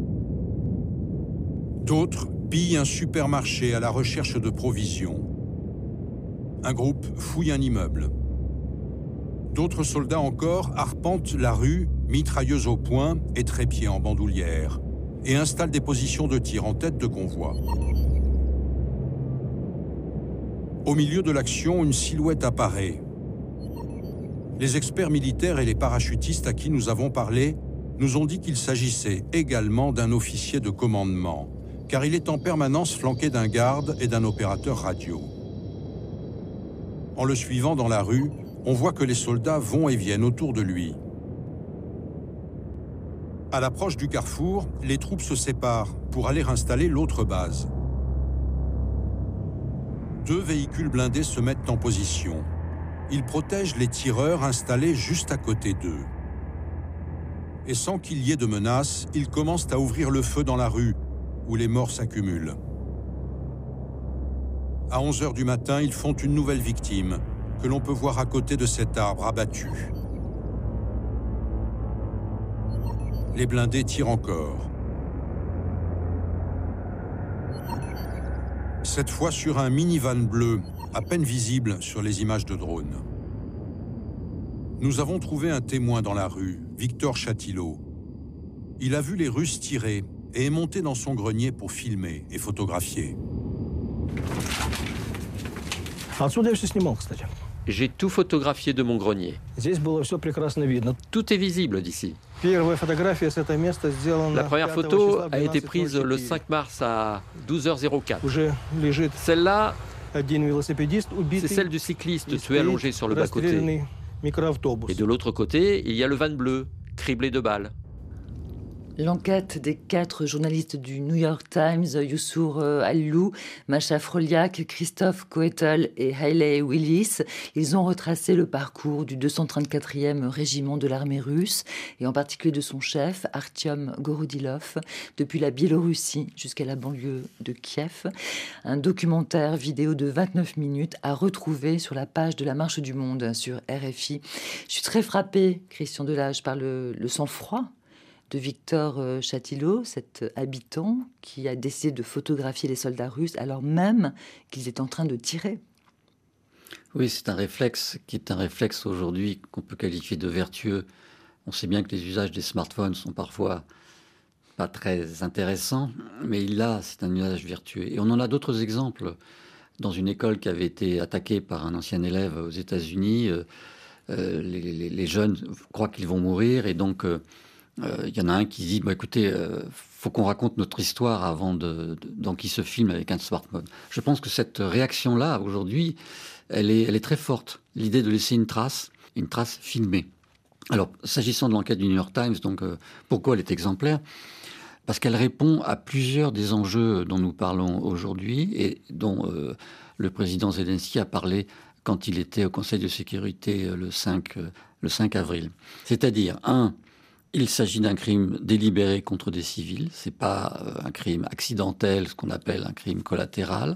D'autres pillent un supermarché à la recherche de provisions. Un groupe fouille un immeuble. D'autres soldats encore arpentent la rue, mitrailleuses au poing et trépieds en bandoulière, et installent des positions de tir en tête de convoi. Au milieu de l'action, une silhouette apparaît. Les experts militaires et les parachutistes à qui nous avons parlé nous ont dit qu'il s'agissait également d'un officier de commandement, car il est en permanence flanqué d'un garde et d'un opérateur radio. En le suivant dans la rue, on voit que les soldats vont et viennent autour de lui. À l'approche du carrefour, les troupes se séparent pour aller installer l'autre base. Deux véhicules blindés se mettent en position. Ils protègent les tireurs installés juste à côté d'eux. Et sans qu'il y ait de menace, ils commencent à ouvrir le feu dans la rue, où les morts s'accumulent. À onze heures du matin, ils font une nouvelle victime, que l'on peut voir à côté de cet arbre abattu. Les blindés tirent encore. Cette fois sur un minivan bleu, à peine visible sur les images de drone. Nous avons trouvé un témoin dans la rue, Victor Chatillo. Il a vu les Russes tirer et est monté dans son grenier pour filmer et photographier. J'ai tout photographié de mon grenier. Tout est visible d'ici. La première photo a été prise le cinq mars à douze heures quatre. Celle-là, c'est celle du cycliste tué allongé sur le bas-côté. Et de l'autre côté, il y a le van bleu, criblé de balles. L'enquête des quatre journalistes du New York Times, Youssour Allou, Masha Froliak, Christophe Coetel et Hayley Willis, ils ont retracé le parcours du deux cent trente-quatrième régiment de l'armée russe, et en particulier de son chef, Artyom Gorodilov, depuis la Biélorussie jusqu'à la banlieue de Kiev. Un documentaire vidéo de vingt-neuf minutes à retrouver sur la page de la Marche du Monde sur R F I. Je suis très frappée, Christian Delage, par le, le sang-froid de Victor Chatillo, cet habitant qui a décidé de photographier les soldats russes alors même qu'ils étaient en train de tirer. Oui, c'est un réflexe qui est un réflexe aujourd'hui qu'on peut qualifier de vertueux. On sait bien que les usages des smartphones sont parfois pas très intéressants, mais là, c'est un usage vertueux. Et on en a d'autres exemples. Dans une école qui avait été attaquée par un ancien élève aux États-Unis, euh, les, les, les jeunes croient qu'ils vont mourir et donc... Euh, Il euh, y en a un qui dit bah, « Écoutez, il euh, faut qu'on raconte notre histoire avant de, de, donc il se filme avec un smartphone. » Je pense que cette réaction-là, aujourd'hui, elle est, elle est très forte. L'idée de laisser une trace, une trace filmée. Alors, s'agissant de l'enquête du New York Times, donc, euh, pourquoi elle est exemplaire ? Parce qu'elle répond à plusieurs des enjeux dont nous parlons aujourd'hui et dont euh, le président Zelensky a parlé quand il était au Conseil de sécurité le cinq, euh, le cinq avril. C'est-à-dire, un, il s'agit d'un crime délibéré contre des civils. C'est pas un crime accidentel, ce qu'on appelle un crime collatéral.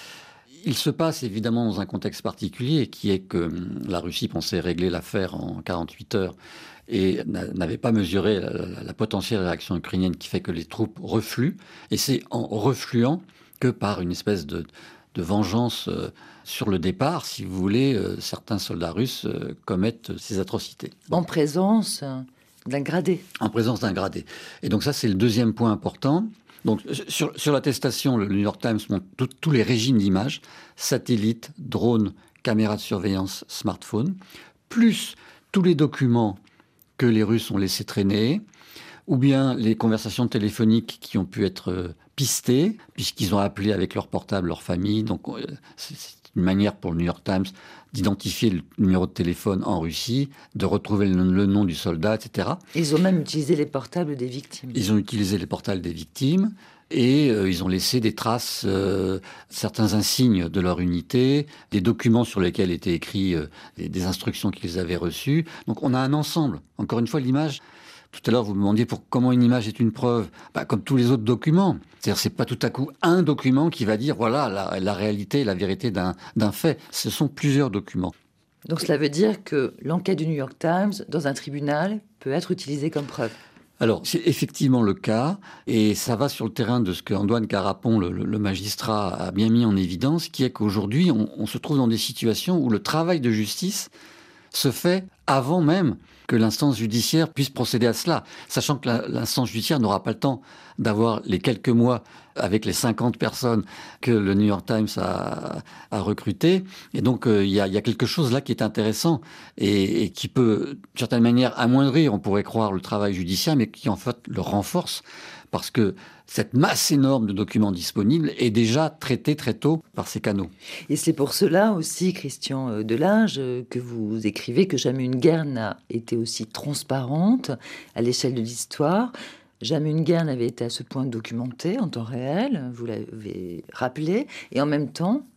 Il se passe évidemment dans un contexte particulier, qui est que la Russie pensait régler l'affaire en quarante-huit heures et n'avait pas mesuré la, la, la potentielle réaction ukrainienne qui fait que les troupes refluent. Et c'est en refluant que par une espèce de, de vengeance euh, sur le départ, si vous voulez, euh, certains soldats russes euh, commettent ces atrocités. En présence d'un gradé. En présence d'un gradé. Et donc ça, c'est le deuxième point important. Donc sur, sur l'attestation, le New York Times montre tout, tous les régimes d'images, satellites, drones, caméras de surveillance, smartphones, plus tous les documents que les Russes ont laissés traîner, ou bien les conversations téléphoniques qui ont pu être pistées, puisqu'ils ont appelé avec leur portable leur famille. Donc c'est une manière pour le New York Times d'identifier le numéro de téléphone en Russie, de retrouver le, le nom du soldat, et cetera. Ils ont même utilisé les portables des victimes. Ils ont utilisé les portables des victimes et euh, ils ont laissé des traces, euh, certains insignes de leur unité, des documents sur lesquels étaient écrits euh, des, des instructions qu'ils avaient reçues. Donc on a un ensemble. Encore une fois, l'image... Tout à l'heure, vous me demandiez pour comment une image est une preuve. Bah, comme tous les autres documents. C'est-à-dire, c'est pas tout à coup un document qui va dire, voilà, la, la réalité, la vérité d'un, d'un fait. Ce sont plusieurs documents. Donc cela veut dire que l'enquête du New York Times, dans un tribunal, peut être utilisée comme preuve. Alors, c'est effectivement le cas, et ça va sur le terrain de ce que Antoine Carapon, le, le magistrat, a bien mis en évidence, qui est qu'aujourd'hui, on, on se trouve dans des situations où le travail de justice se fait avant même que l'instance judiciaire puisse procéder à cela, sachant que la, l'instance judiciaire n'aura pas le temps d'avoir les quelques mois avec les cinquante personnes que le New York Times a, a recrutées. Et donc, il euh, y, a, y a quelque chose là qui est intéressant et, et qui peut, d'une certaine manière, amoindrir, on pourrait croire, le travail judiciaire, mais qui, en fait, le renforce parce que cette masse énorme de documents disponibles est déjà traitée très tôt par ces canaux. Et c'est pour cela aussi, Christian Delage, que vous écrivez que jamais une guerre n'a été aussi transparente à l'échelle de l'histoire. Jamais une guerre n'avait été à ce point documentée en temps réel, vous l'avez rappelé, et en même temps,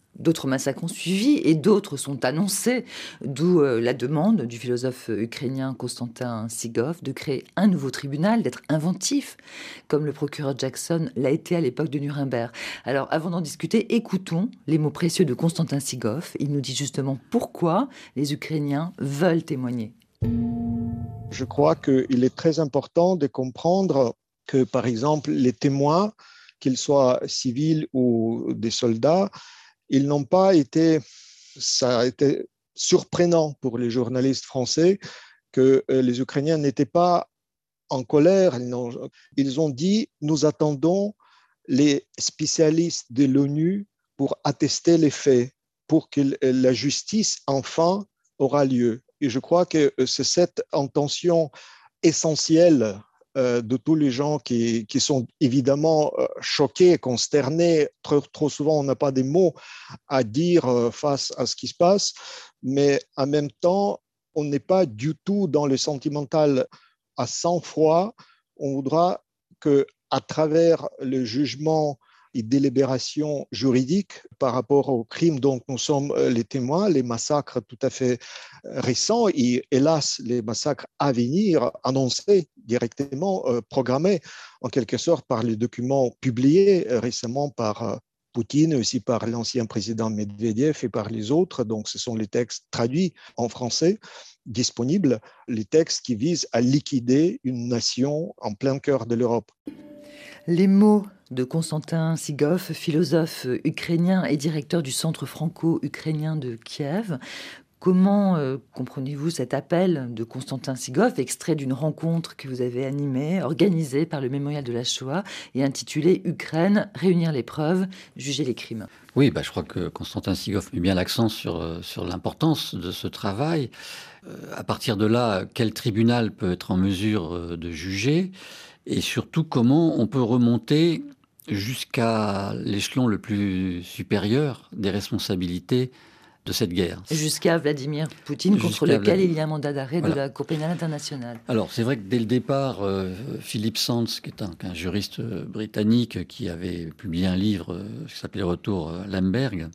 D'autres massacres ont suivi et d'autres sont annoncés, d'où euh, la demande du philosophe ukrainien Konstantin Sigov de créer un nouveau tribunal, d'être inventif, comme le procureur Jackson l'a été à l'époque de Nuremberg. Alors, avant d'en discuter, écoutons les mots précieux de Konstantin Sigov. Il nous dit justement pourquoi les Ukrainiens veulent témoigner. Je crois qu'il est très important de comprendre que, par exemple, les témoins, qu'ils soient civils ou des soldats, ils n'ont pas été, ça a été surprenant pour les journalistes français que les Ukrainiens n'étaient pas en colère. Ils ont, ils ont dit « Nous attendons les spécialistes de l'ONU pour attester les faits, pour que la justice, enfin, aura lieu. » Et je crois que c'est cette intention essentielle de tous les gens qui, qui sont évidemment choqués, consternés. Trop, trop souvent, on n'a pas des mots à dire face à ce qui se passe, mais en même temps, on n'est pas du tout dans le sentimental à sang-froid. On voudra qu'à travers le jugement et délibération juridique par rapport aux crimes dont nous sommes les témoins, les massacres tout à fait récents et hélas les massacres à venir, annoncés directement, euh, programmés en quelque sorte par les documents publiés récemment par euh, Poutine, aussi par l'ancien président Medvedev et par les autres. Donc ce sont les textes traduits en français, disponibles, les textes qui visent à liquider une nation en plein cœur de l'Europe. Les mots de Konstantin Sigov, philosophe ukrainien et directeur du Centre franco-ukrainien de Kiev. Comment euh, comprenez-vous cet appel de Konstantin Sigov, extrait d'une rencontre que vous avez animée, organisée par le Mémorial de la Shoah et intitulée « Ukraine, réunir les preuves, juger les crimes ». Oui, bah, je crois que Konstantin Sigov met bien l'accent sur, sur l'importance de ce travail. Euh, à partir de là, quel tribunal peut être en mesure de juger ? Et surtout, comment on peut remonter jusqu'à l'échelon le plus supérieur des responsabilités de cette guerre. Jusqu'à Vladimir Poutine, Jusqu'à contre lequel Vlad... il y a un mandat d'arrêt voilà. de la Cour pénale internationale. Alors, c'est vrai que dès le départ, euh, Philip Sands, qui est un, un juriste britannique qui avait publié un livre euh, qui s'appelait Retour à Lemberg,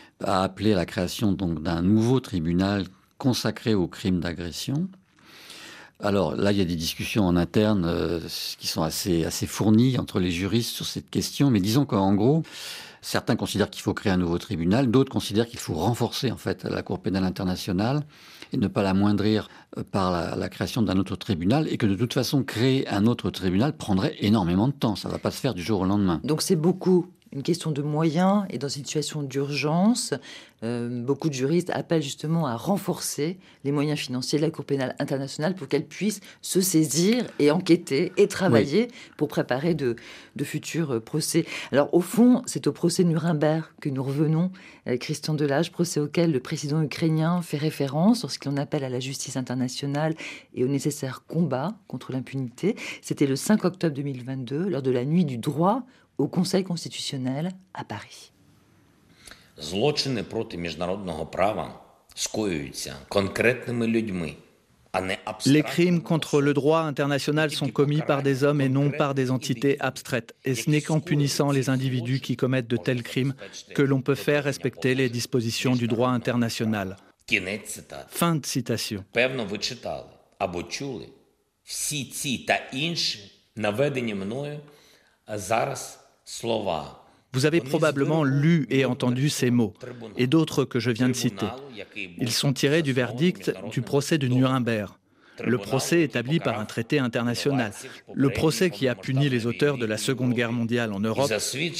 a appelé à la création donc, d'un nouveau tribunal consacré aux crimes d'agression. Alors là, il y a des discussions en interne euh, qui sont assez, assez fournies entre les juristes sur cette question. Mais disons qu'en gros, certains considèrent qu'il faut créer un nouveau tribunal, d'autres considèrent qu'il faut renforcer en fait la Cour pénale internationale et ne pas l'amoindrir par la, la création d'un autre tribunal, et que de toute façon, créer un autre tribunal prendrait énormément de temps. Ça ne va pas se faire du jour au lendemain. Donc c'est beaucoup une question de moyens, et dans une situation d'urgence, euh, beaucoup de juristes appellent justement à renforcer les moyens financiers de la Cour pénale internationale pour qu'elle puisse se saisir et enquêter et travailler oui. pour préparer de, de futurs procès. Alors au fond, c'est au procès de Nuremberg que nous revenons, avec Christian Delage, procès auquel le président ukrainien fait référence lorsqu'on appelle à la justice internationale et au nécessaire combat contre l'impunité. C'était le cinq octobre deux mille vingt-deux, lors de la nuit du droit au Conseil constitutionnel à Paris. Злочини проти міжнародного права скоюються конкретними людьми. Les crimes contre le droit international sont commis par des hommes et non par des entités abstraites. Et ce n'est qu'en punissant les individus qui commettent de tels crimes que l'on peut faire respecter les dispositions du droit international. Fin de citation. Певно, ви читали або чули всі ці та інші наведені мною зараз слова. Vous avez probablement lu et entendu ces mots, et d'autres que je viens de citer. Ils sont tirés du verdict du procès de Nuremberg, le procès établi par un traité international, le procès qui a puni les auteurs de la Seconde Guerre mondiale en Europe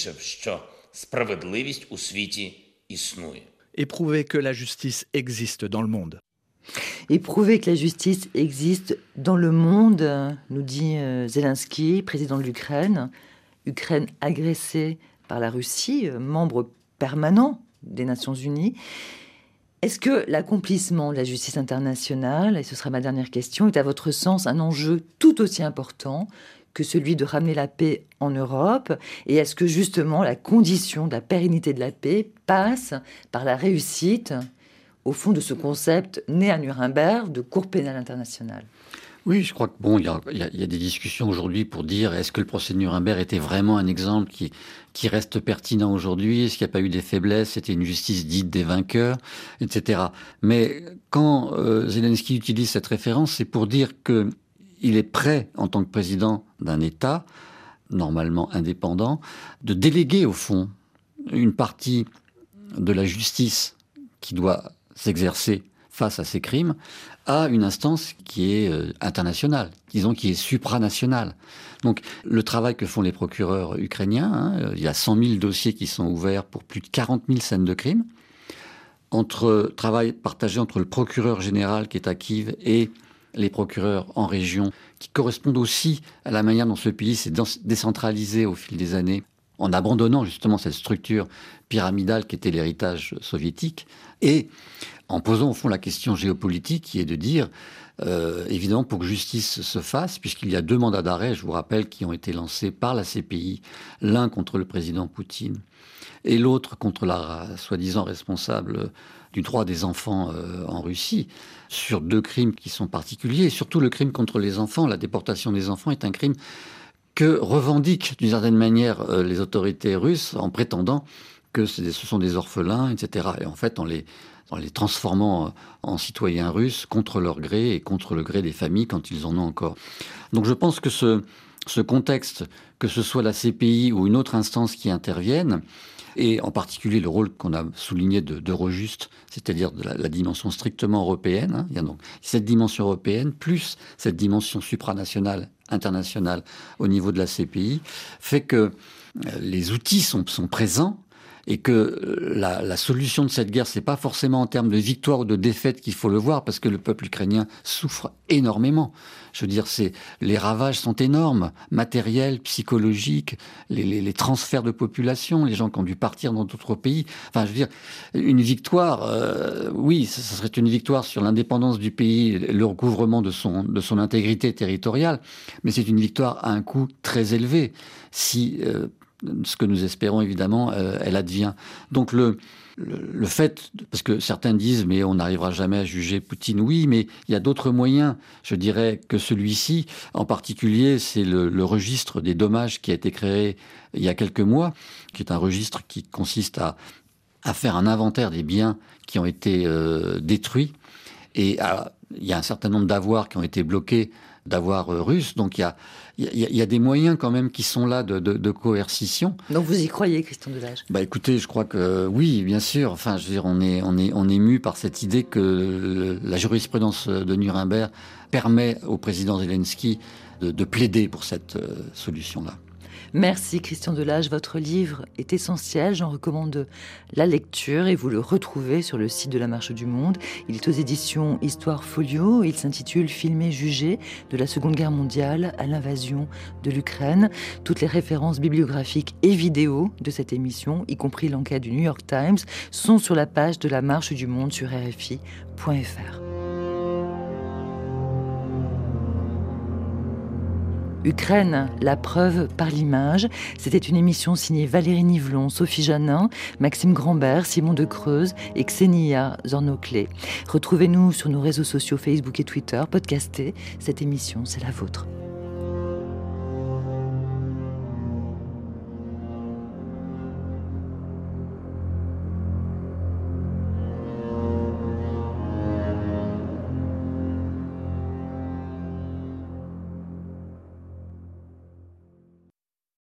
et prouvé que la justice existe dans le monde. Et prouver que la justice existe dans le monde, nous dit Zelensky, président de l'Ukraine, Ukraine agressée par la Russie, membre permanent des Nations Unies. Est-ce que l'accomplissement de la justice internationale, et ce sera ma dernière question, est à votre sens un enjeu tout aussi important que celui de ramener la paix en Europe? Et est-ce que justement la condition de la pérennité de la paix passe par la réussite, au fond, de ce concept né à Nuremberg de Cour pénale internationale? Oui, je crois que bon, il y a, y a, y a des discussions aujourd'hui pour dire est-ce que le procès de Nuremberg était vraiment un exemple qui, qui reste pertinent aujourd'hui? Est-ce qu'il n'y a pas eu des faiblesses? C'était une justice dite des vainqueurs, et cetera. Mais quand euh, Zelensky utilise cette référence, c'est pour dire que il est prêt, en tant que président d'un État, normalement indépendant, de déléguer au fond une partie de la justice qui doit s'exercer face à ces crimes à une instance qui est euh, internationale, disons qui est supranationale. Donc le travail que font les procureurs ukrainiens, hein, il y a cent mille dossiers qui sont ouverts pour plus de quarante mille scènes de crimes, entre travail partagé entre le procureur général qui est à Kiev et les procureurs en région, qui correspondent aussi à la manière dont ce pays s'est décentralisé au fil des années, en abandonnant justement cette structure pyramidale qui était l'héritage soviétique, et en posant au fond la question géopolitique qui est de dire, euh, évidemment, pour que justice se fasse, puisqu'il y a deux mandats d'arrêt, je vous rappelle, qui ont été lancés par la C P I, l'un contre le président Poutine et l'autre contre la soi-disant responsable du droit des enfants euh, en Russie, sur deux crimes qui sont particuliers, et surtout le crime contre les enfants. La déportation des enfants est un crime que revendiquent d'une certaine manière euh, les autorités russes en prétendant que ce sont des orphelins, et cetera. Et en fait, en les, en les transformant en citoyens russes contre leur gré et contre le gré des familles quand ils en ont encore. Donc je pense que ce, ce contexte, que ce soit la C P I ou une autre instance qui intervienne, et en particulier le rôle qu'on a souligné de, d'Eurojust, c'est-à-dire de la, la dimension strictement européenne. Hein. Il y a donc cette dimension européenne, plus cette dimension supranationale, internationale, au niveau de la C P I, fait que les outils sont, sont présents, et que la, la solution de cette guerre, c'est pas forcément en termes de victoire ou de défaite qu'il faut le voir, parce que le peuple ukrainien souffre énormément. Je veux dire, c'est, les ravages sont énormes, matériels, psychologiques, les, les, les transferts de population, les gens qui ont dû partir dans d'autres pays. Enfin, je veux dire, une victoire, euh, oui, ce serait une victoire sur l'indépendance du pays, le recouvrement de son, de son intégrité territoriale, mais c'est une victoire à un coût très élevé. Si, euh, ce que nous espérons évidemment, euh, elle advient. Donc le, le, le fait, parce que certains disent mais on n'arrivera jamais à juger Poutine, oui, mais il y a d'autres moyens, je dirais, que celui-ci. En particulier, c'est le, le registre des dommages qui a été créé il y a quelques mois, qui est un registre qui consiste à, à faire un inventaire des biens qui ont été euh, détruits. Et alors, il y a un certain nombre d'avoirs qui ont été bloqués, d'avoirs euh, russes, donc il y a Il y, a, il y a des moyens quand même qui sont là de, de, de coercition. Donc vous y croyez, Christian Delage? Bah écoutez, je crois que oui, bien sûr. Enfin, je veux dire, on est, on est, on est mu par cette idée que la jurisprudence de Nuremberg permet au président Zelensky de, de plaider pour cette euh, solution-là. Merci Christian Delage, votre livre est essentiel, j'en recommande la lecture et vous le retrouvez sur le site de la Marche du Monde. Il est aux éditions Histoire Folio, il s'intitule Filmer, juger, de la Seconde Guerre mondiale à l'invasion de l'Ukraine. Toutes les références bibliographiques et vidéos de cette émission, y compris l'enquête du New York Times, sont sur la page de la Marche du Monde sur R F I point F R. Ukraine, la preuve par l'image. C'était une émission signée Valérie Nivelon, Sophie Janin, Maxime Grambert, Simon de Creuse et Ksenia Zornoclé. Retrouvez-nous sur nos réseaux sociaux Facebook et Twitter, podcastez. Cette émission, c'est la vôtre.